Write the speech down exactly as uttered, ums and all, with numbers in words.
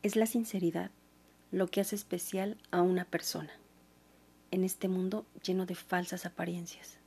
Es la sinceridad lo que hace especial a una persona en este mundo lleno de falsas apariencias.